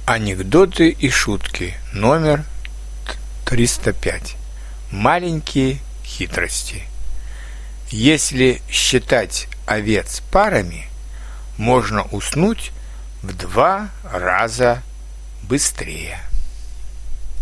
Анекдоты и шутки номер 305. Маленькие хитрости. Если считать овец парами, можно уснуть в 2 раза быстрее.